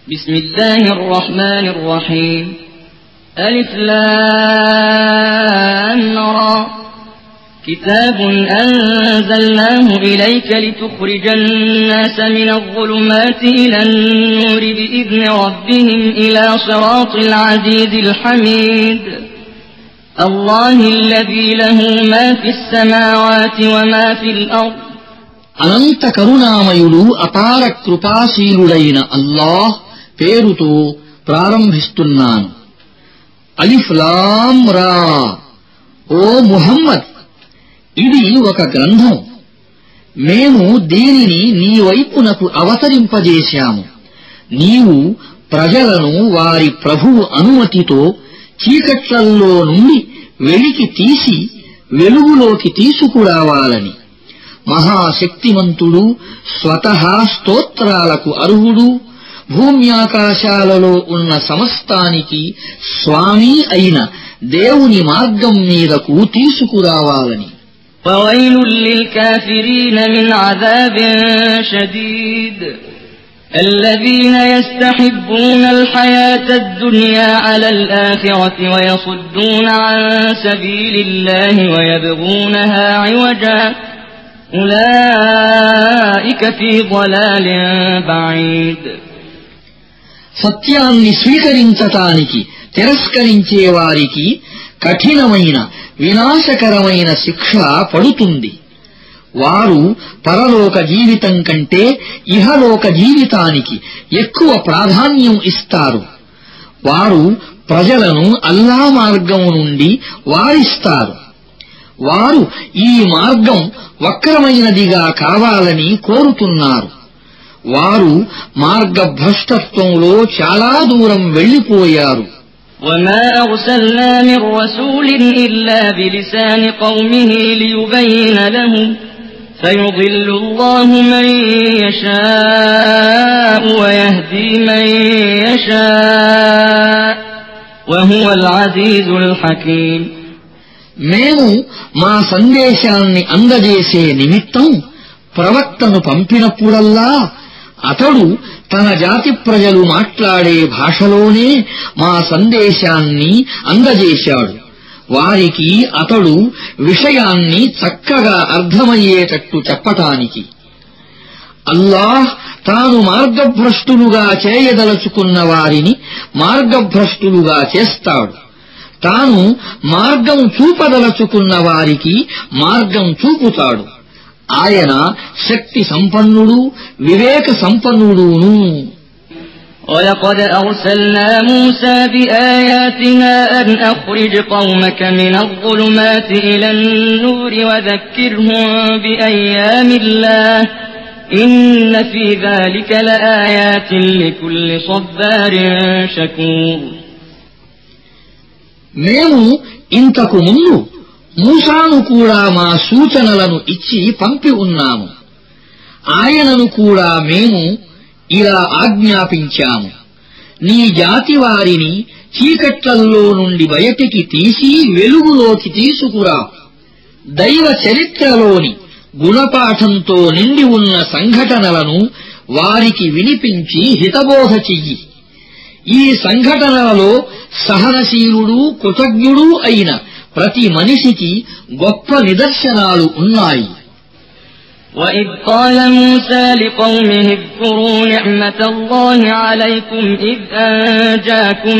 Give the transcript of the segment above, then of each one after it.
بسم الله الرحمن الرحيم ألف لام را كتاب أنزلناه إليك لتخرج الناس من الظلمات إلى النور بإذن ربهم إلى صراط العزيز الحميد الله الذي له ما في السماوات وما في الأرض అనంత కరుణామయుడు అపార కృపాశీలుడైన అల్లాహ్ పేరుతో ప్రారంభిస్తున్నాను. అలిఫ్ లామ్ రా. ఓ ముహమ్మద్, ఇది ఒక గ్రంథం. మేము దీనిని నీ వైపునకు అవతరింపజేశాము. నీవు ప్రజలను వారి ప్రభువు అనుమతితో చీకట్లల్లో నుండి వెలికి తీసి వెలుగులోకి తీసుకురావాలని. మహాశక్తిమంతుడు, స్వతహా స్తోత్రాలకు అర్హుడు, భూమ్యాకాశాలలో ఉన్న సమస్తానికి స్వామి అయిన దేవుని మార్గం మీదకు తీసుకురావాలని. وَوَيْلٌ لِّلْكَافِرِينَ مِنْ عَذَابٍ شَدِيدٍ الَّذِينَ يَسْتَحِبُّونَ الْحَيَاةَ الدُّنْيَا عَلَى الْآخِرَةِ وَيَصُدُّونَ عَن سَبِيلِ اللَّهِ وَيَبْغُونَهَا عِوَجًا أُولَئِكَ فِي ضَلَالٍ بَعِيدٍ. సత్యాన్ని స్వీకరించటానికి తిరస్కరించే వారికి కఠినమైన వినాశకరమైన శిక్ష పడుతుంది. వారు పరలోక జీవితం కంటే ఇహలోక జీవితానికి ఎక్కువ ప్రాధాన్యం ఇస్తారు. వారు ప్రజలను అల్లా మార్గం నుండి వారిస్తారు. వారు ఈ మార్గం వక్రమైనదిగా కావాలని కోరుతున్నారు. వారు మార్గభ్రష్టత్వంలో చాలా దూరం వెళ్లిపోయారు. وَمَا أَرْسَلْنَا مِن رَّسُولٍ إِلَّا بِلِسَانِ قَوْمِهِ لِيُبَيِّنَ لَهُمْ فَيُضِلُّ اللَّهُ مَن يَشَاءُ وَيَهْدِي مَن يَشَاءُ وَهُوَ الْعَزِيزُ الْحَكِيمُ. మేము మా సందేశాన్ని అందజేసే నిమిత్తం ప్రవక్తను పంపినప్పుడల్లా అతడు తన జాతి ప్రజలు మాట్లాడే భాషలోనే మా సందేశాన్ని అందజేశాడు. వారికి అతడు విషయాన్ని చక్కగా అర్థమయ్యేటట్టు చెప్పటానికి. అల్లాహ్ తాను మార్గభ్రష్టులుగా చేయదలుచుకున్న వారిని మార్గభ్రష్టులుగా చేస్తాడు. తాను మార్గం చూపదలుచుకున్న వారికి మార్గం చూపుతాడు. ఆయన శక్తి సంపన్నుడు, వివేక సంపన్నుడును. وَلَقَدْ أَرْسَلْنَا مُوسَى بِآيَاتِنَا أَنْ أَخْرِجْ قَوْمَكَ مِنَ الظُّلُمَاتِ إِلَى النُّورِ وَذَكِّرْهُم بِأَيَّامِ اللَّهِ إِنَّ فِي ذَلِكَ لَآيَاتٍ لِكُلِّ صَبَّارٍ شَكُورٍ. మేము ఇంతకు ముందు మూసాను కూడా మా సూచనలను ఇచ్చి పంపి ఉన్నాము. ఆయనను కూడా మేము ఇలా ఆజ్ఞాపించాము: నీ జాతి వారిని చీకట్లల్లో నుండి బయటికి తీసి వెలుగులోకి తీసుకురా. దైవ చరిత్రలోని గుణపాఠంతో నిండి ఉన్న సంఘటనలను వారికి వినిపించి హితబోధ చెయ్యి. ఈ సంఘటనలలో సహనశీలుడు, కృతజ్ఞుడు అయిన ప్రతి మనిషికి గొప్ప నిదర్శనాలు ఉన్నాయి. وَإِذْ قَالَ مُوسَى لِقَوْمِهِ اذْكُرُوا نِعْمَةَ اللَّهِ عَلَيْكُمْ إِذْ أَنجَاكُم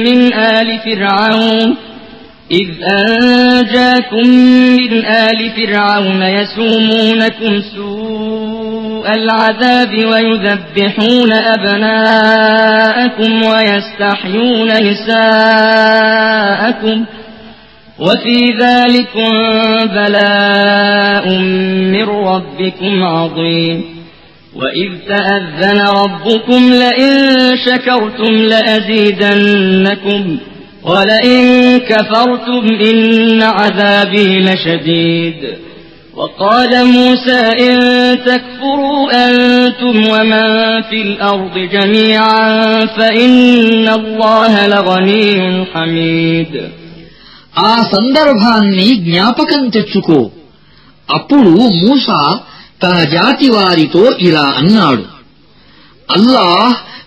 مِّنْ آلِ فِرْعَوْنَ يَسُومُونَكُمْ سُوءَ الْعَذَابِ وَيُذَبِّحُونَ أَبْنَاءَكُمْ وَيَسْتَحْيُونَ نِسَاءَكُمْ وَفِي ذَلِكُمْ بَلَاءٌ مِّن رَّبِّكُمْ عَظِيمٌ. وَإِذْ تَأَذَّنَ رَبُّكُمْ لَئِن شَكَرْتُمْ لَأَزِيدَنَّكُمْ وَلَئِن كَفَرْتُمْ إِنَّ عَذَابِي لَشَدِيدٌ. وَقَالَ مُوسَى إِن تَكْفُرُوا أَنتُمْ وَمَن فِي الْأَرْضِ جَمِيعًا فَإِنَّ اللَّهَ لَغَنِيٌّ حَمِيدٌ. ఆ సందర్భాన్ని జ్ఞాపకం తెచ్చుకో. అప్పుడు మూసా తన జాతి వారితో ఇలా అన్నాడు: అల్లాహ్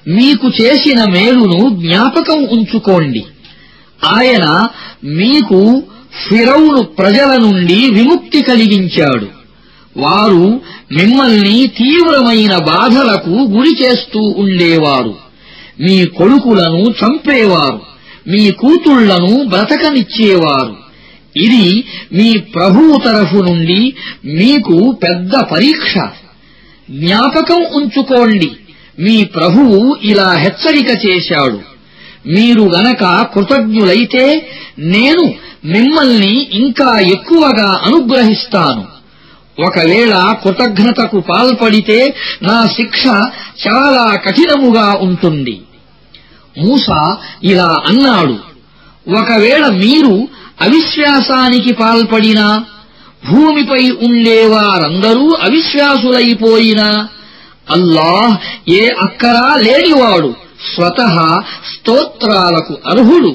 మీకు చేసిన మేలును జ్ఞాపకం ఉంచుకోండి. ఆయన మీకు ఫిరౌను ప్రజల నుండి విముక్తి కలిగించాడు. వారు మిమ్మల్ని తీవ్రమైన బాధలకు గురి చేస్తూ ఉండేవారు. మీ కొడుకులను చంపేవారు, మీ కూతుళ్లను బ్రతకనిచ్చేవారు. ఇది మీ ప్రభువు తరఫు నుండి మీకు పెద్ద పరీక్ష. జ్ఞాపకం ఉంచుకోండి, మీ ప్రభువు ఇలా హెచ్చరిక చేశాడు. మీరు గనక కృతజ్ఞులైతే నేను మిమ్మల్ని ఇంకా ఎక్కువగా అనుగ్రహిస్తాను. ఒకవేళ కృతజ్ఞతకు పాల్పడితే నా శిక్ష చాలా కఠినముగా ఉంటుంది. మూసా ఇలా అన్నాడు, ఒకవేళ మీరు అవిశ్వాసానికి పాల్పడినా, భూమిపై ఉండేవారందరూ అవిశ్వాసులైపోయినా, అల్లాహ్ ఏ అక్కరా లేనివాడు, స్వతహా స్తోత్రాలకు అర్హుడు.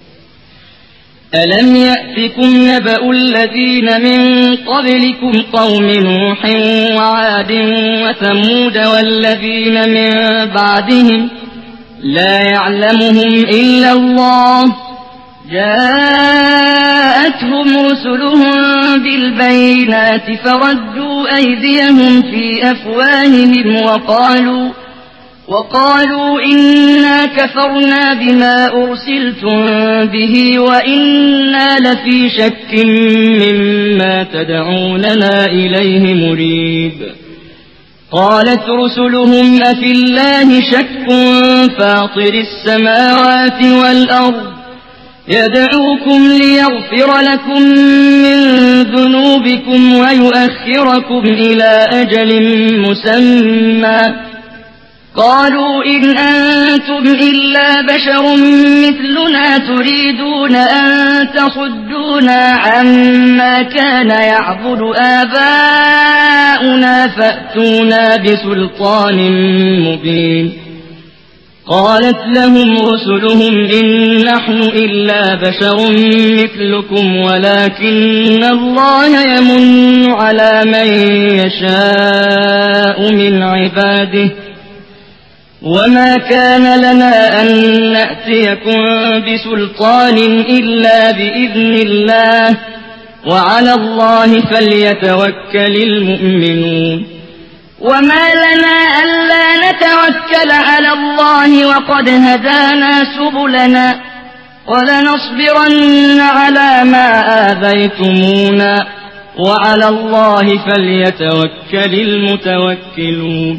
ألم يأتكم نبأ الذين من قبلكم قوم نوح وعاد وثمود والذين من بعدهم لا يعلمهم إلا الله جاءتهم رسلهم بالبينات فردوا أيديهم في أفواههم وقالوا إنا كفرنا بما أرسلتم به وإنا لفي شك مما تدعوننا إليه مريب. قالت رسلهم أفي الله شك فاطر السماوات والأرض يدعوكم ليغفر لكم من ذنوبكم ويؤخركم إلى أجل مسمى قالوا إن أنتم إلا بشر مثلنا تريدون أن تصدونا عما كان يعبد آباؤنا فأتونا بسلطان مبين. قالت لهم رسلهم إن نحن إلا بشر مثلكم ولكن الله يمن على من يشاء من عباده وما كان لنا أن نأتيكم بسلطان إلا بإذن الله وعلى الله فليتوكل المؤمنون. وما لنا ألا نتوكل على الله وقد هدانا سبلنا ولنصبرن على ما آذيتمونا وعلى الله فليتوكل المتوكلون.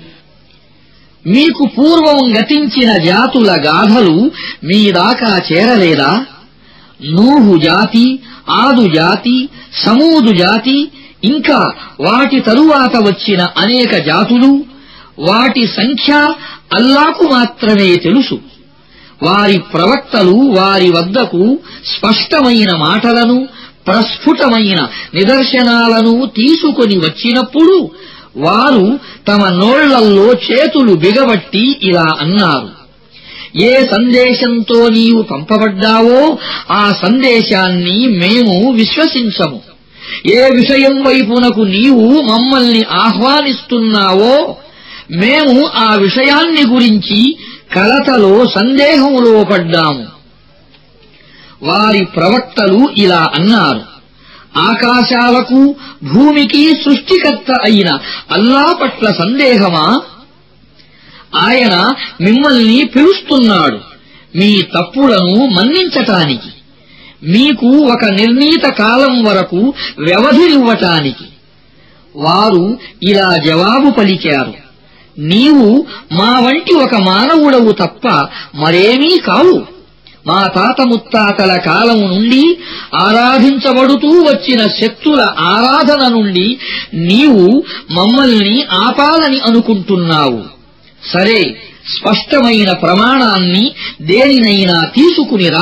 మీకు పూర్వం గతించిన జాతుల గాథలు మీదాకా చేరలేదా? నూహు జాతి, ఆదు జాతి, సమూదు జాతి, ఇంకా వాటి తరువాత వచ్చిన అనేక జాతులు, వాటి సంఖ్య అల్లాకు మాత్రమే తెలుసు. వారి ప్రవక్తలు వారి వద్దకు స్పష్టమైన మాటలను, ప్రస్ఫుటమైన నిదర్శనాలను తీసుకొని వచ్చినప్పుడు వారు తమ నోళ్లల్లో చేతులు బిగబట్టి ఇలా అన్నారు, ఏ సందేశంతో నీవు పంపబడ్డావో ఆ సందేశాన్ని మేము విశ్వసించము. ఏ విషయం వైపునకు నీవు మమ్మల్ని ఆహ్వానిస్తున్నావో మేము ఆ విషయాన్ని గురించి కలతలో సందేహంలో పడ్డాము. వారి ప్రవక్తలు ఇలా అన్నారు, ఆకాశాలకు భూమికి సృష్టికర్త అయిన అల్లా పట్ల సందేహమా? ఆయన మిమ్మల్ని పిలుస్తున్నాడు మీ తప్పులను మన్నించటానికి, మీకు ఒక నిర్ణీత కాలం వరకు వ్యవధినివ్వటానికి. వారు ఇలా జవాబు పలికారు, నీవు మా వంటి ఒక మానవుడవు తప్ప మరేమీ కావు. మా తాత ముత్తాతల కాలం నుండి ఆరాధించబడుతూ వచ్చిన శక్తుల ఆరాధన నుండి నీవు మమ్మల్ని ఆపాలని అనుకుంటున్నావు. సరే, స్పష్టమైన ప్రమాణాన్ని దేనినైనా తీసుకునిరా.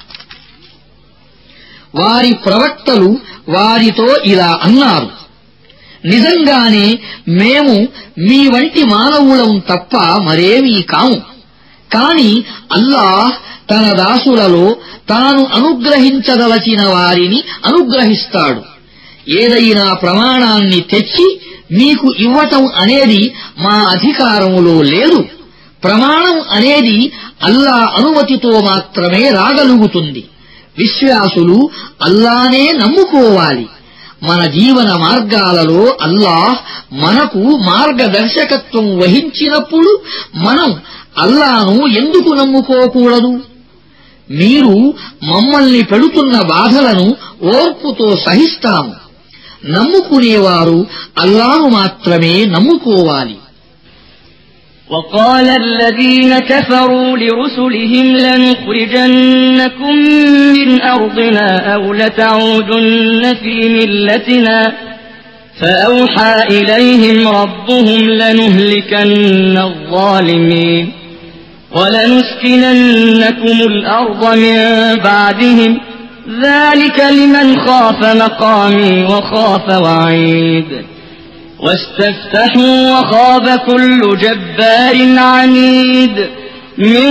వారి ప్రవక్తలు వారితో ఇలా అన్నారు, నిజంగానే మేము మీ వంటి మానవులం తప్ప మరేమీ కాము. కాని అల్లాహ్ తన దాసులలో తాను అనుగ్రహించదలచిన వారిని అనుగ్రహిస్తాడు. ఏదైనా ప్రమాణాన్ని తెచ్చి మీకు ఇవ్వటం అనేది మా అధికారములో లేదు. ప్రమాణం అనేది అల్లా అనుమతితో మాత్రమే రాగలుగుతుంది. విశ్వాసులు అల్లానే నమ్ముకోవాలి. మన జీవన మార్గాలలో అల్లాహ్ మనకు మార్గదర్శకత్వం వహించినప్పుడు మనం అల్లాను ఎందుకు నమ్ముకోకూడదు? మీరు మమ్మల్ని పెడుతున్న బాధలను ఓర్పుతో సహిస్తాము. నమ్ముకునేవారు అల్లాను మాత్రమే నమ్ముకోవాలి. وقال الذين كفروا لرسلهم لنخرجنكم من أرضنا أو لتعودن في ملتنا فأوحى إليهم ربهم لنهلكن الظالمين ولنسكننكم الأرض من بعدهم ذلك لمن خاف مقامي وخاف وعيد واستفتحوا وخاب كل جبار عنيد من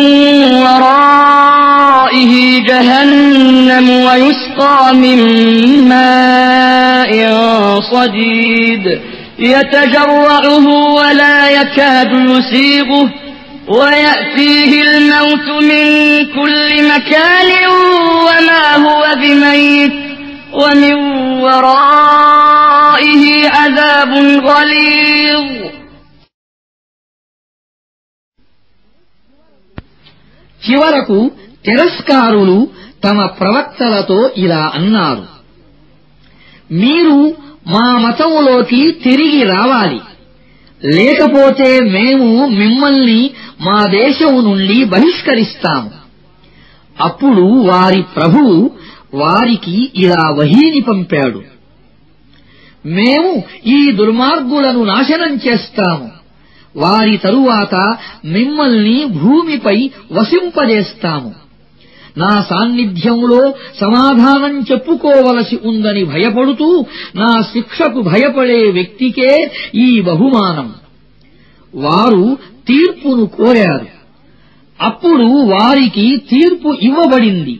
ورائه جهنم ويسقى من ماء صديد يتجرعه ولا يكاد يسيغه ويأتيه الموت من كل مكان وما هو بميت ومن ورائه عذاب غليظ. చివరకు తిరస్కారులు తమ ప్రవక్తలతో ఇలా అన్నారు: మీరు మా మతములోకి తిరిగి రావాలి, లేకపోతే మేము మిమ్మల్ని మా దేశం నుండి బహిష్కరిస్తాము. అప్పుడు వారి ప్రభువు వారికి ఇలా వహీని పంపాడు: మేము ఈ దుర్మార్గులను నాశనం చేస్తాము, వారి తరువాత మిమ్మల్ని భూమిపై వసింపజేస్తాము. నా సాన్నిధ్యంలో సమాధానం చెప్పుకోవలసి ఉందని భయపడుతూ నా శిక్షకు భయపడే వ్యక్తికే ఈ బహుమానం. వారు తీర్పును కోరారు, అప్పుడు వారికి తీర్పు ఇవ్వబడింది.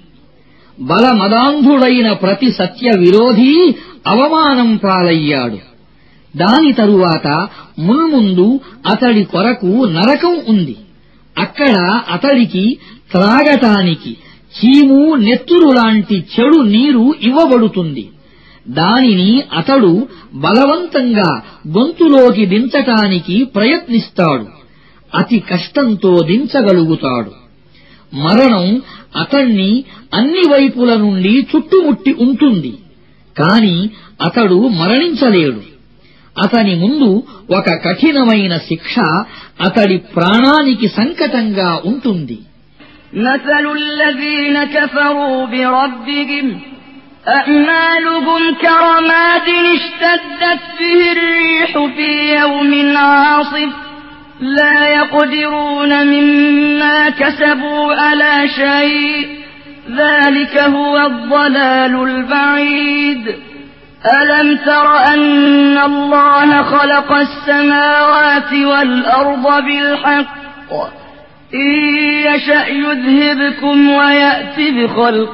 బలమదాంధుడైన ప్రతి సత్య విరోధీ అవమానం పాలయ్యాడు. దాని తరువాత మున్ముందు అతడి కొరకు నరకం ఉంది. అక్కడ అతడికి త్రాగటానికి చీము నెత్తురు లాంటి చెడు నీరు ఇవ్వబడుతుంది. దానిని అతడు బలవంతంగా గొంతులోకి దించటానికి ప్రయత్నిస్తాడు. అతి కష్టంతో దించగలుగుతాడు. మరణం అతణ్ణి అన్ని వైపుల నుండి చుట్టుముట్టి ఉంటుంది, కాని అతడు మరణించలేడు. అతని ముందు ఒక కఠినమైన శిక్ష అతడి ప్రాణానికి సంకటంగా ఉంటుంది. مثل الذين كفروا بربهم أعمالهم كرماد اشتدت به الريح في يوم عاصف لا يقدرون مما كسبوا على شيء ذلك هو الضلال البعيد ألم تر أن الله خلق السماوات والأرض بالحق إن يشأ يذهبكم ويأت بخلق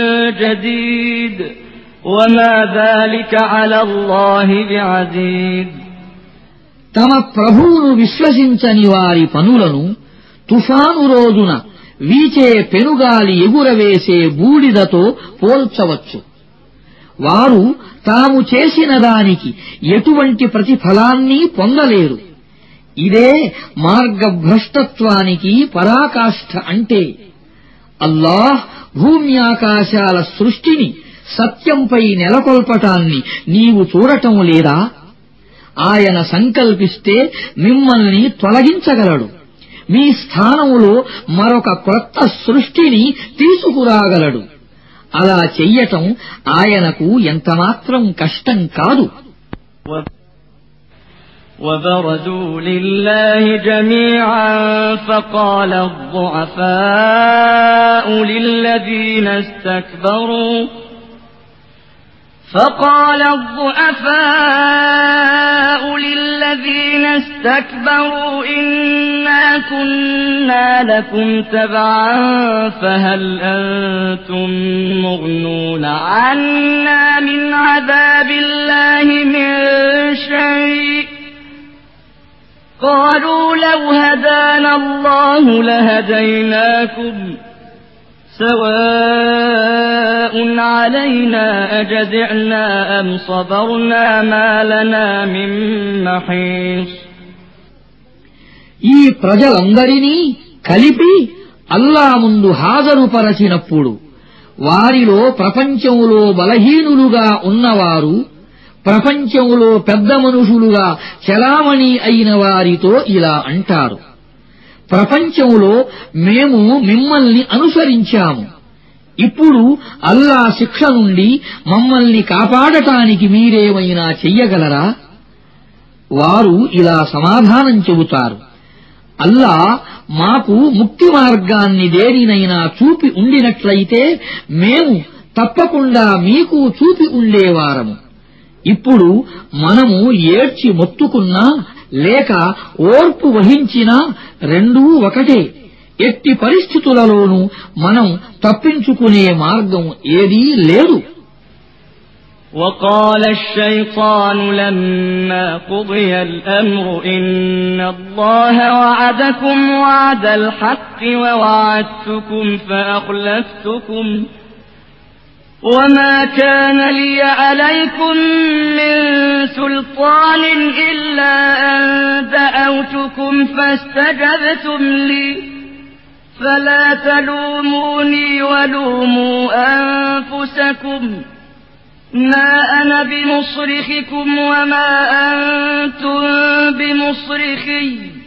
جديد وما ذلك على الله بعزيز. తమ ప్రభువును విశ్వసించని వారి పనులను తుఫాను రోజున వీచే పెనుగాలి ఎగురవేసే బూడిదతో పోల్చవచ్చు. వారు తాము చేసిన దానికి ఎటువంటి ప్రతిఫలాన్ని పొందలేరు. ఇదే మార్గభ్రష్టత్వానికి పరాకాష్ఠ అంటే. అల్లాహ్ భూమ్యాకాశాల సృష్టిని సత్యంపై నెలకొల్పటాన్ని నీవు చూడటం లేదా? ఆయన సంకల్పిస్తే మిమ్మల్ని తొలగించగలడు. మీ స్థానంలో మరొక క్రొత్త సృష్టిని తీసుకురాగలడు. అలా చెయ్యటం ఆయనకు ఎంతమాత్రం కష్టం కాదు. وبرزوا لله جميعا فقال الضعفاء للذين استكبروا إنا كنا لكم تبعا فهل أنتم مغنون عنا من عذاب الله من شيء قالوا لو هدانا الله لهديناكم سواء علينا أجزعنا أم صبرنا ما لنا من محيص ఈ ప్రజలందరినీ కలిపి అల్లా ముందు హాజరుపరచినప్పుడు వారిలో ప్రపంచంలో బలహీనులుగా ఉన్నవారు ప్రపంచంలో పెద్ద మనుషులుగా చెలామణి అయిన వారితో ఇలా అంటారు, ప్రపంచంలో మేము మిమ్మల్ని అనుసరించాము, ఇప్పుడు అల్లా శిక్ష నుండి మమ్మల్ని కాపాడటానికి మీరేమైనా చెయ్యగలరా? వారు ఇలా సమాధానం చెబుతారు, అల్లా మాకు ముక్తి మార్గాన్ని దేనినైనా చూపి ఉండినట్లయితే మేము తప్పకుండా మీకు చూపి ఉండేవారము. ఇప్పుడు మనము ఏడ్చి మొత్తుకున్నా లేక ఓర్పు వహించినా రెండూ ఒకటే. ఎట్టి పరిస్థితులలోనూ మనం తప్పించుకునే మార్గం ఏదీ లేదు. وقال الشيطان لما قضي الأمر إن الله وعدكم وعد الحق ووعدتكم فأخلفتكم وما كان لي عليكم من سلطان إلا أن دعوتكم فاستجبتم لي فلا تلوموني ولوموا أنفسكم ما أنا بمصرخكم وما أنتم بمصرخي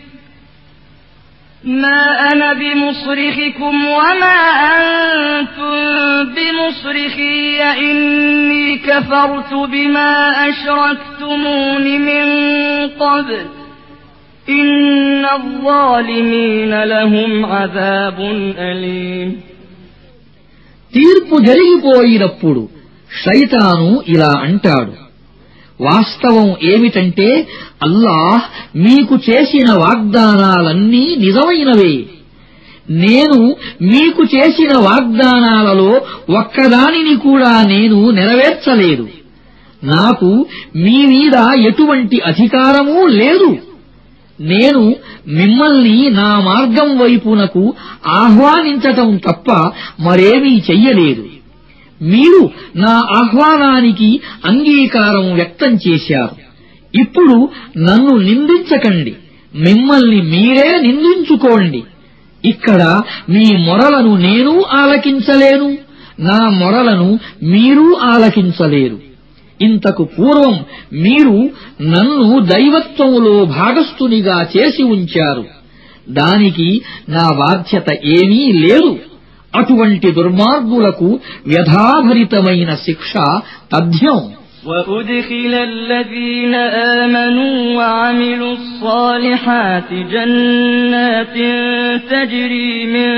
ما أنا بمصرخكم وما أنتم بمصرخي إني كفرت بما أشركتمون من قبل إن الظالمين لهم عذاب أليم తీర్పు జరిగిపోయినప్పుడు శైతాను ఇలా అంటాడు, వాస్తవం ఏమిటంటే అల్లాహ్ మీకు చేసిన వాగ్దానాలన్నీ నిజమైనవే. నేను మీకు చేసిన వాగ్దానాలలో ఒక్కదానిని కూడా నేను నెరవేర్చలేదు. నాకు మీ మీద ఎటువంటి అధికారమూ లేదు. నేను మిమ్మల్ని నా మార్గం వైపునకు ఆహ్వానించటం తప్ప మరేమీ చెయ్యలేదు. మీరు నా ఆహ్వానానికి అంగీకారం వ్యక్తం చేశారు. ఇప్పుడు నన్ను నిందించకండి, మిమ్మల్ని మీరే నిందించుకోండి. ఇక్కడ మీ మొరలను నేను ఆలకించలేను, నా మొరలను మీరు ఆలకించలేరు. ఇంతకు పూర్వం మీరు నన్ను దైవత్వములో భాగస్థునిగా చేసి ఉంచారు. దానికి నా బాధ్యత ఏమీ లేదు. అటువంటి దుర్మార్గులకు వ్యధాభరితమైన శిక్ష తథ్యం. وأدخل الذين آمنوا وعملوا الصالحات جنات تجري من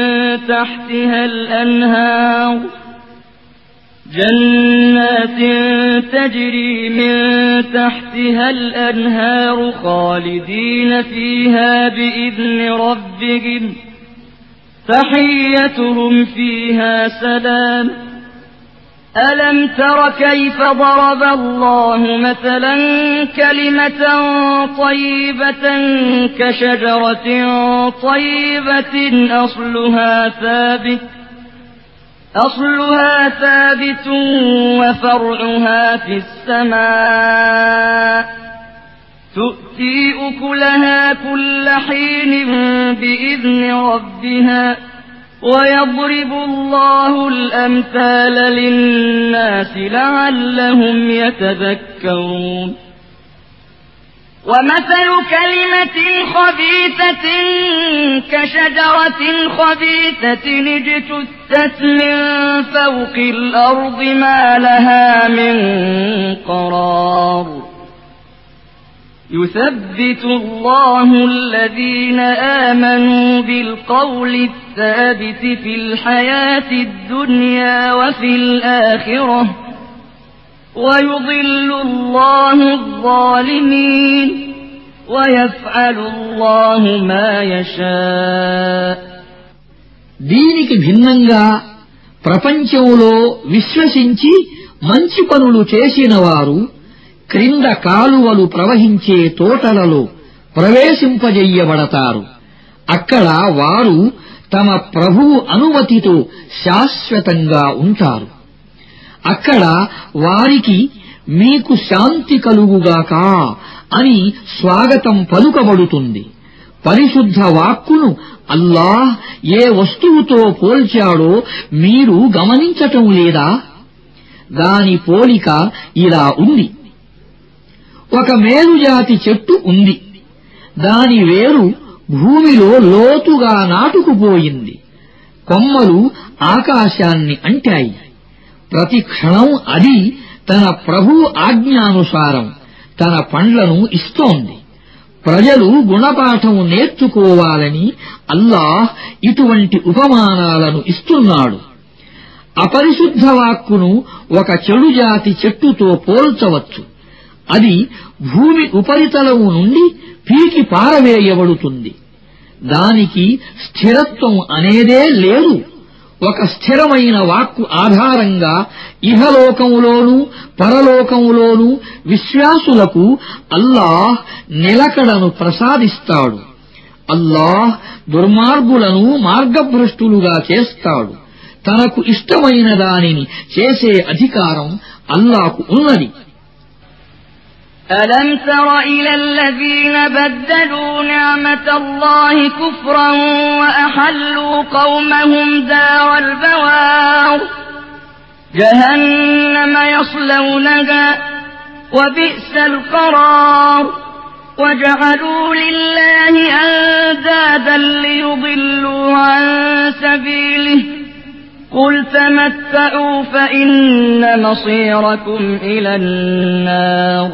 تحتها الأنهار خالدين فيها بإذن ربهم تحيتهم فيها سلام ألم تر كيف ضرب الله مثلا كلمة طيبة كشجرة طيبة أصلها ثابت وفرعها في السماء تؤتي أكلها كل حين بإذن ربها ويضرب الله الأمثال للناس لعلهم يتذكرون ومثل كلمة خبيثة كشجرة خبيثة اجتثت من فوق الأرض ما لها من قرار يثبت الله الذين آمنوا بالقول الثابت في الحياة الدنيا وفي الآخرة ويضل الله الظالمين ويفعل الله ما يشاء దీనికి భిన్నంగా ప్రపంచంలో విశ్వసించి మంచి పనులు చేసిన వారు క్రింద కాలువలు ప్రవహించే తోటలలో ప్రవేశింపజెయ్యబడతారు. అక్కడ వారు తమ ప్రభువు అనుమతితో శాశ్వతంగా ఉంటారు. అక్కడ వారికి మీకు శాంతి కలుగుగాక అని స్వాగతం పలుకబడుతుంది. పరిశుద్ధ వాక్కును అల్లాహ్ ఏ వస్తువుతో పోల్చాడో మీరు గమనించటం లేదా? దాని పోలిక ఇలా ఉంది. ఒక మేలుజాతి చెట్టు ఉంది. దాని వేరు భూమిలో లోతుగా నాటుకుపోయింది. కొమ్మలు ఆకాశాన్ని అంటాయి. ప్రతి క్షణం అది తన ప్రభువు ఆజ్ఞానుసారం తన పండ్లను ఇస్తోంది. ప్రజలు గుణపాఠం నేర్చుకోవాలని అల్లాహ్ ఇటువంటి ఉపమానాలను ఇస్తున్నాడు. అపరిశుద్ధ వాక్కును ఒక చెడుజాతి చెట్టుతో పోల్చవచ్చు. అది భూమి ఉపరితలం నుండి పీకి పారవేయబడుతుంది. దానికి స్థిరత్వం అనేదే లేదు. ఒక స్థిరమైన వాక్కు ఆధారంగా ఇహలోకంలోనూ పరలోకంలోనూ విశ్వాసులకు అల్లాహ్ నిలకడను ప్రసాదిస్తాడు. అల్లాహ్ దుర్మార్గులను మార్గభ్రష్టులుగా చేస్తాడు. తనకు ఇష్టమైన దానిని చేసే అధికారం అల్లాహ్కు ఉన్నది. ألم تر إلى الذين بدلوا نعمة الله كفرا وأحلوا قومهم دار البوار جهنم يصلونها وبئس القرار وجعلوا لله أندادا ليضلوا عن سبيله قل تمتعوا فإن مصيركم إلى النار.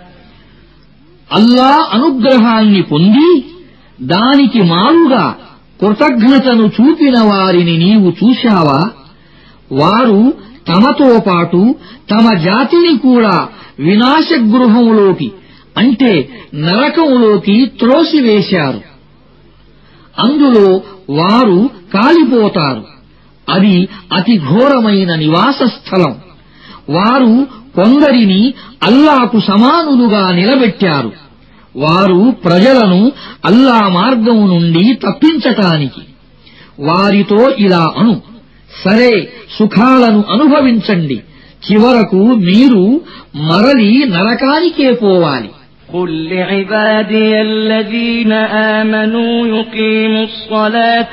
అల్లా అనుగ్రహాన్ని పొంది దానికి మారుగా కృతజ్ఞతను చూపిన వారిని నీవు చూశావా? వారు తమతో పాటు తమ జాతిని కూడా వినాశగృహంలోకి అంటే నరకంలోకి త్రోసివేశారు. అందులో వారు కాలిపోతారు. అది అతి ఘోరమైన నివాస స్థలం. వారు కొందరిని అల్లాకు సమానులుగా నిలబెట్టారు. వారు ప్రజలను అల్లా మార్గం నుండి తప్పించటానికి. వారితో ఇలా అను, సరే సుఖాలను అనుభవించండి, చివరకు మీరు మరలి నరకానికే పోవాలి. قل لعبادي الذين آمنوا يقيموا الصلاة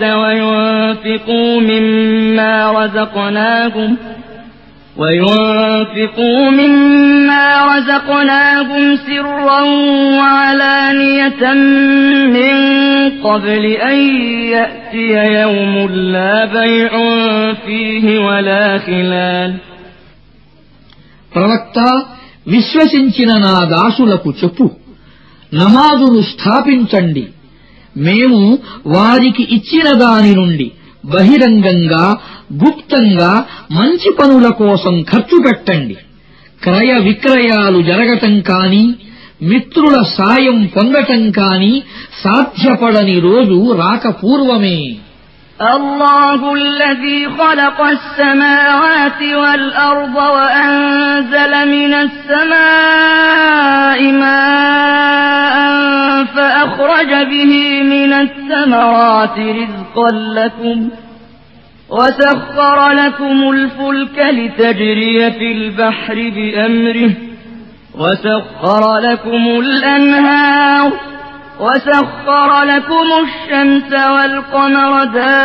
وينفقوا مما رزقناهم سرا وعلانية من قبل أن يأتي يوم لا بيع فيه ولا خلال. ప్రవక్త, విశ్వసించిన నా దాసులకు చెప్పు, నమాజును స్థాపించండి. మేము వారికి ఇచ్చిన దాని నుండి బహిరంగంగా గుప్తంగా మంచి పనుల కోసం ఖర్చు పెట్టండి. క్రయ విక్రయాలు జరగటం కాని, మిత్రుల సాయం పొందటం కాని సాధ్యపడని రోజు రాకపూర్వమే. الله الذي خلق السماوات والأرض وأنزل من السماء ماء فأخرج به من الثمرات رزقا لكم وسخر لكم الفلك لتجري في البحر بأمره وسخر لكم الأنهار وسخر لكم الشمس والقمر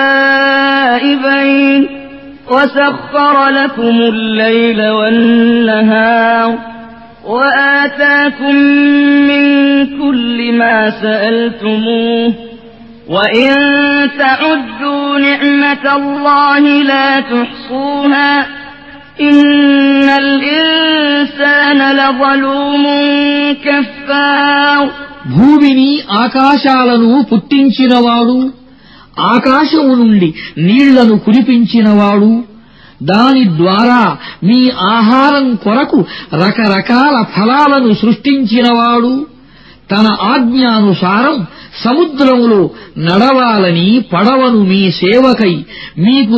دائبين وسخر لكم الليل والنهار وآتاكم من كل ما سألتموه وإن تعدوا نعمة الله لا تحصوها إن الإنسان لظلوم كفار. భూమిని ఆకాశాలను పుట్టించినవాడు, ఆకాశము నుండి నీళ్లను కురిపించినవాడు, దాని ద్వారా మీ ఆహారం కొరకు రకరకాల ఫలాలను సృష్టించినవాడు, తన ఆజ్ఞానుసారం సముద్రములో నడవాలని పడవను మీ సేవకై మీకు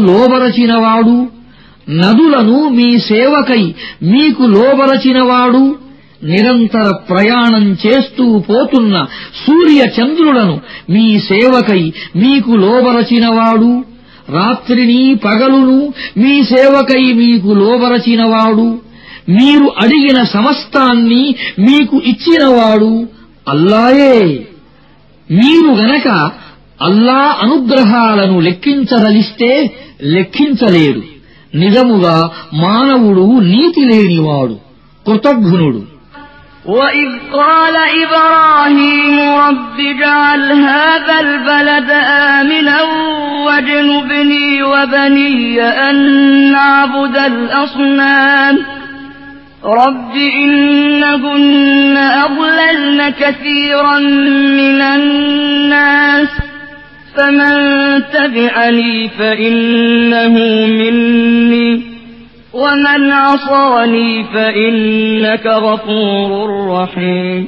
లోబరచినవాడు, నదులను మీ సేవకై మీకు లోబరచినవాడు, నిరంతర ప్రయాణం చేస్తూ పోతున్న సూర్య చంద్రులను మీ సేవకై మీకు లోబరచినవాడు, రాత్రిని పగలును మీ సేవకై మీకు లోబరచినవాడు, మీరు అడిగిన సమస్తాన్ని మీకు ఇచ్చినవాడు అల్లాయే. మీరు గనక అల్లా అనుగ్రహాలను లెక్కించదలిస్తే లెక్కించలేరు. నిజముగా మానవుడు నీతి లేనివాడు, కృతఘ్నుడు. وَإِذْ قَالَ إِبْرَاهِيمُ رَبِّ اجْعَلْ هَٰذَا الْبَلَدَ آمِنًا وَاجْنُبْنِي وَبَنِيَّ أَن نَّعْبُدَ الْأَصْنَامَ رَبِّ إِنَّهُنَّ أَضْلَلْنَ كَثِيرًا مِّنَ النَّاسِ فَمَن تَبِعَنِي فَإِنَّهُ مِنِّي وَمَنْ عَصَانِي فَإِنَّكَ غَفُورٌ رَّحِيمٌ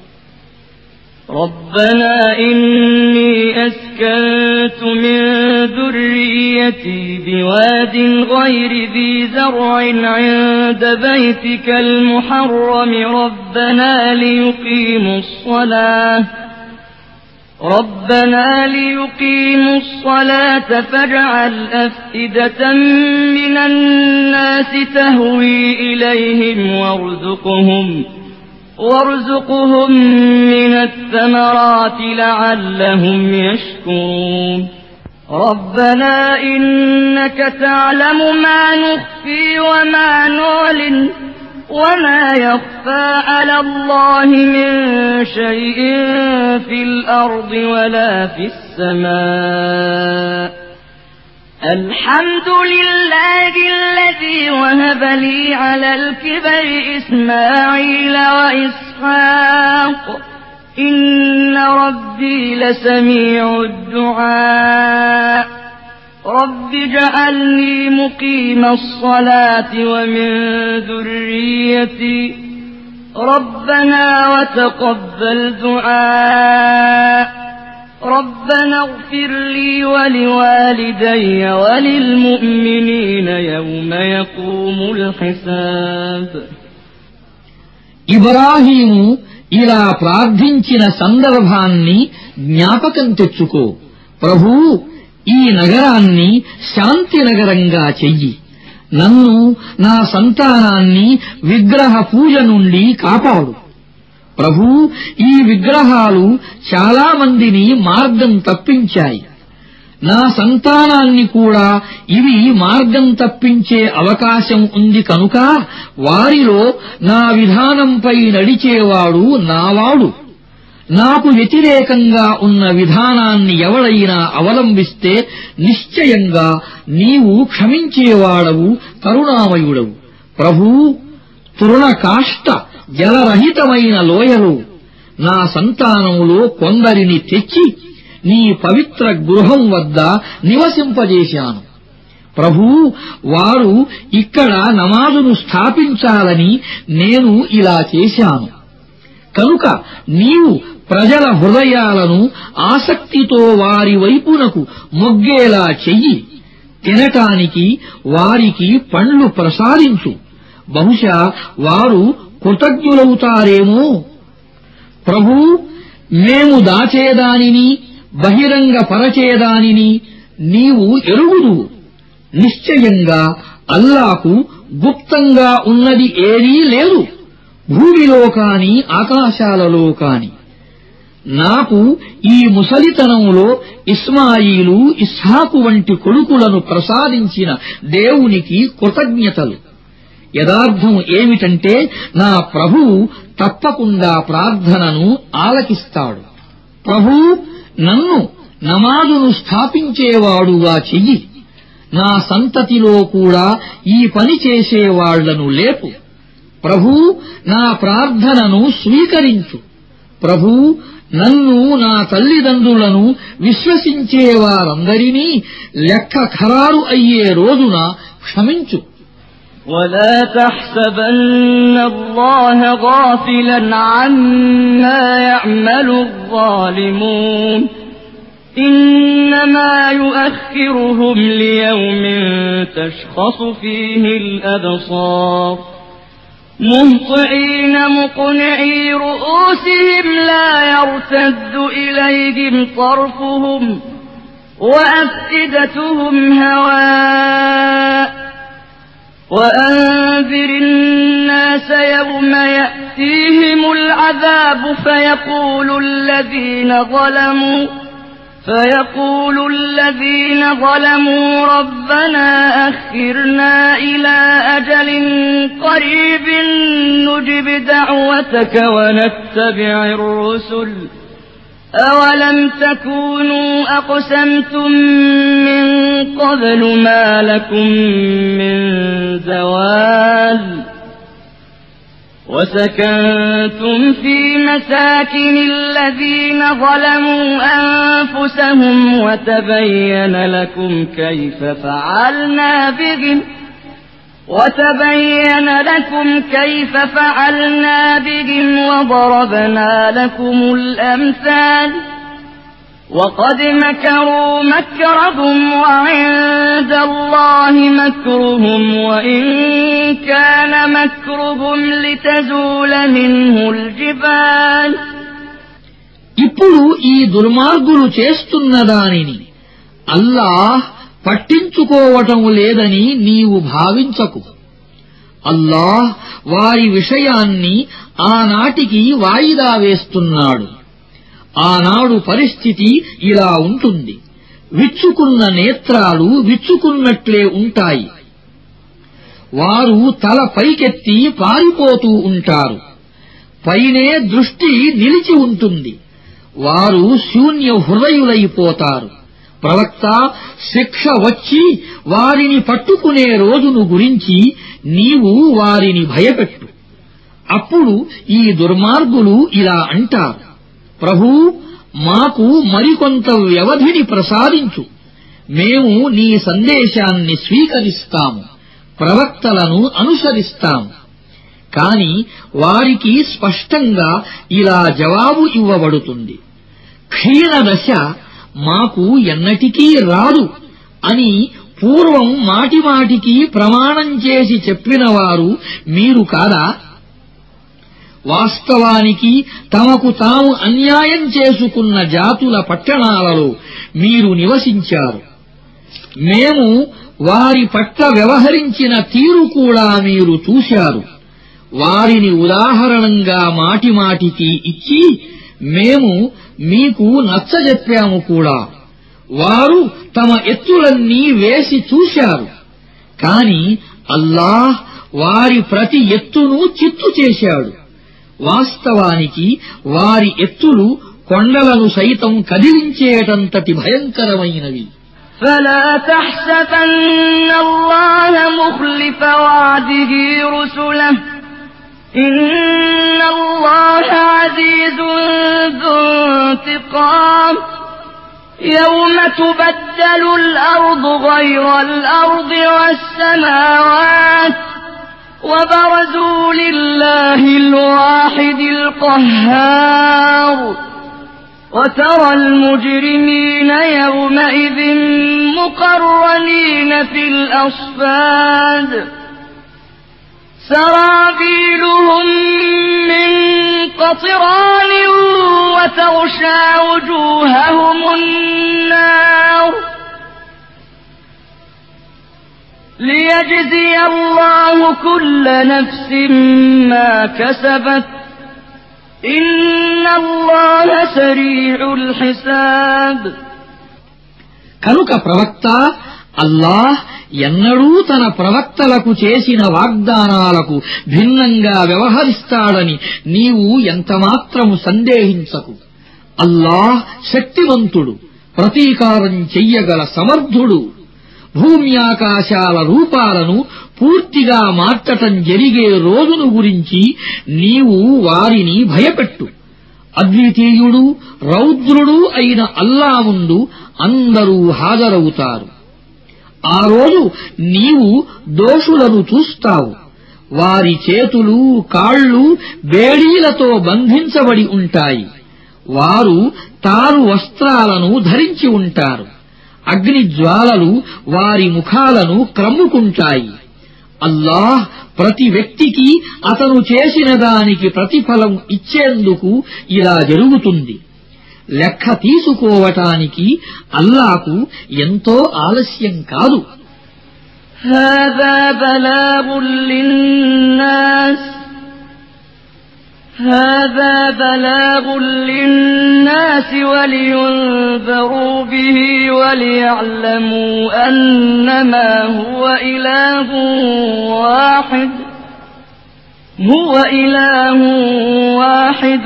رَبَّنَا إِنِّي أَسْكَنتُ مِن ذُرِّيَّتِي بِوَادٍ غَيْرِ ذِي زَرْعٍ عِندَ بَيْتِكَ الْمُحَرَّمِ رَبَّنَا لِيُقِيمُوا الصَّلَاةَ فَاجْعَلْ أَفْئِدَةً مِّنَ النَّاسِ تَهْوِي إِلَيْهِمْ وَارْزُقْهُم مِّنَ الثَّمَرَاتِ لَعَلَّهُمْ يَشْكُرُونَ رَبَّنَا إِنَّكَ تَعْلَمُ مَا نُخْفِي وَمَا نُعْلِنُ وَمَا يَخْفَىٰ عَلَى اللَّهِ مِن شَيْءٍ فِي الْأَرْضِ وَلَا فِي السَّمَاءِ الْحَمْدُ لِلَّهِ الَّذِي وَهَبَ لِي عَلَى الْكِبَرِ إِسْمَاعِيلَ وَإِسْحَاقَ إِنَّ رَبِّي لَسَمِيعُ الدُّعَاءِ رَبِّ اجْعَلْنِي مُقِيمَ الصَّلَاةِ وَمِن ذُرِّيَّتِي رَبَّنَا وَتَقَبَّلْ دُعَاءِ رَبَّنَا اغْفِرْ لِي وَلِوَالِدَيَّ وَلِلْمُؤْمِنِينَ يَوْمَ يَقُومُ الْحِسَابُ ఇబ్రాహీము ఇలా ప్రార్థించిన సందర్భాన్ని జ్ఞాపకం తెచ్చుకో. ప్రభూ, ఈ నగరాన్ని శాంతి నగరంగా చెయ్యి. నన్ను, నా సంతానాన్ని విగ్రహ పూజ నుండి కాపాడు. ప్రభూ, ఈ విగ్రహాలు చాలా మందిని మార్గం తప్పించాయి. నా సంతానాన్ని కూడా ఇవి మార్గం తప్పించే అవకాశం ఉంది కనుక వారిలో నా విధానంపై నడిచేవాడు నావాడు. నాకు వ్యతిరేకంగా ఉన్న విధానాన్ని ఎవడైనా అవలంబిస్తే నిశ్చయంగా నీవు క్షమించేవాడవు, కరుణామయుడవు. ప్రభూ, తృణకాష్ట జలరహితమైన లోయలో నా సంతానములో కొందరిని తెచ్చి నీ పవిత్ర గృహం వద్ద నివసింపజేశాను. ప్రభూ, వారు ఇక్కడ నమాజును స్థాపించాలని నేను ఇలా చేశాను. కనుక నీవు ప్రజల హృదయాలను ఆసక్తితో వారి వైపునకు మొగ్గేలా చెయ్యి. తినటానికి వారికి పండ్లు ప్రసాదించు. బహుశా వారు కృతజ్ఞులవుతారేమో. ప్రభూ, మేము దాచేదానిని బహిరంగపరచేదానిని నీవు ఎరుగుదువు. నిశ్చయంగా అల్లాకు గుప్తంగా ఉన్నది ఏదీ లేదు, భూమిలో కాని ఆకాశాలలో కాని. నాకు ఈ ముసలితనంలో ఇస్మాయిలు, ఇస్హాకు వంటి కొడుకులను ప్రసాదించిన దేవునికి కృతజ్ఞతలు. యదార్థం ఏమిటంటే నా ప్రభువు తప్పకుండా ప్రార్థనను ఆలకిస్తాడు. ప్రభూ, నన్ను నమాజును స్థాపించేవాడుగా చెయ్యి. నా సంతతిలో కూడా ఈ పని చేసేవాళ్లను లేపు. ప్రభూ, నా ప్రార్థనను స్వీకరించు. ప్రభూ, నన్ను, నా తల్లిదండ్రులను విశ్వసించేవారందరినీ లెక్క ఖరారు అయ్యే రోజున క్షమించు. ولا تحسبن الله غافلا عما يعمل الظالمون إنما يؤخرهم ليوم تشخص فيه الأبصار مهطعين مقنعي رؤوسهم لا يرتد إليهم طرفهم وأفئدتهم هواء وأنذر الناس يوم يأتيهم العذاب فيقول الذين ظلموا ربنا أخرنا إلى أجل قريب نجب دعوتك ونتبع الرسل أولم تكونوا أقسمتم من قبل ما لكم من زوال وسكنتم في مساكن الذين ظلموا أنفسهم وتبين لكم كيف فعلنا بهم وضربنا لكم الأمثال وقد مكروا مكرهم وعند الله مكرهم وإن كان مكرهم لتزول منه الجبال. ఇప్పుడు ఈ దుర్మార్గులు చేస్తున్న దానిని అల్లాహ్ పట్టించుకోవటం లేదని నీవు భావించకు. అల్లాహ్ వారి విషయాన్ని ఆనాటికి వాయిదా వేస్తున్నాడు. ఆనాడు పరిస్థితి ఇలా ఉంటుంది. విచ్చుకున్న నేత్రాలు విచ్చుకున్నట్లే ఉంటాయి. వారు తల పైకెత్తి పారిపోతూ ఉంటారు. పైనే దృష్టి నిలిచి ఉంటుంది. వారు శూన్య హృదయులైపోతారు. ప్రవక్త, శిక్ష వచ్చి వారిని పట్టుకునే రోజును గురించి నీవు వారిని భయపెట్టు. అప్పుడు ఈ దుర్మార్గులు ఇలా అంటారు, ప్రభూ, మాకు మరికొంత వ్యవధిని ప్రసాదించు. మేము నీ సందేశాన్ని స్వీకరిస్తాము, ప్రవక్తలను అనుసరిస్తాము. కాని వారికి స్పష్టంగా ఇలా జవాబు ఇవ్వబడుతుంది, క్షీణదశ మాకు ఎన్నటికీ రాదు అని పూర్వం మాటిమాటికి ప్రమాణం చేసి చెప్పినవారు మీరు కాదా? వాస్తవానికి తమకు తాము అన్యాయం చేసుకున్న జాతుల పట్టణాలలో మీరు నివసించారు. మేము వారి పట్ల వ్యవహరించిన తీరు కూడా మీరు చూశారు. వారిని ఉదాహరణంగా మాటిమాటికి ఇచ్చి మేము మీకు నచ్చజెప్పాము కూడా. వారు తమ ఎత్తులన్నీ వేసి చూశారు. కాని అల్లాహ్ వారి ప్రతి ఎత్తును చిత్తు చేశాడు. వాస్తవానికి వారి ఎత్తులు కొండలను సైతం కదిలించేటంతటి భయంకరమైనవి. فلا تحسبن الله مخلف وعده رسله إن الله عزيز ذو انتقام يوم تبدل الأرض غير الأرض والسماوات وبرزوا لله الواحد القهار وترى المجرمين يومئذ مقرنين في الأصفاد سرابيلهم من قطران وتغشى وجوههم النار ليجزي الله كل نفس ما كسبت إن الله سريع الحساب. కనుక ప్రవక్త, అల్లాహ్ ఎన్నడూ తన ప్రవక్తలకు చేసిన వాగ్దానాలకు భిన్నంగా వ్యవహరిస్తాడని నీవు ఎంతమాత్రము సందేహించకు. అల్లాహ్ శక్తివంతుడు, ప్రతీకారం చెయ్యగల సమర్థుడు. భూమ్యాకాశాల రూపాలను పూర్తిగా మార్చటం జరిగే రోజును గురించి నీవు వారిని భయపెట్టు. అద్వితీయుడు, రౌద్రుడు అయిన అల్లా ముందు అందరూ హాజరవుతారు. ఆ రోజు నీవు దోషులను చూస్తావు. వారి చేతులు, కాళ్ళు బేడీలతో బంధించబడి ఉంటాయి. వారు తారు వస్త్రాలను ధరించి ఉంటారు. అగ్ని జ్వాలలు వారి ముఖాలను క్రమ్ముకుంటాయి. అల్లాహ్ ప్రతి వ్యక్తికి అతను చేసిన దానికి ప్రతిఫలం ఇచ్చేందుకు ఇలా జరుగుతుంది. లెక్క తీసుకోవటానికి అల్లాహకు ఎంతో ఆలస్యం కాదు. هذا بلاغ للناس ولينذروا به وليعلموا أنما هو إله واحد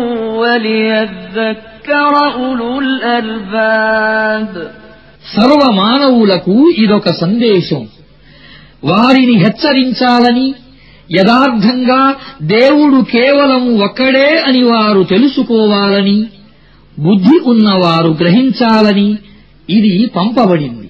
وليذكر أولو الألباب. సర్వమానవులకు ఇదొక సందేశం. వారిని హెచ్చరించాలని, యథార్థంగా దేవుడు కేవలం ఒక్కడే అని వారు తెలుసుకోవాలని, బుద్ధి ఉన్నవారు గ్రహించాలని ఇది పంపబడింది.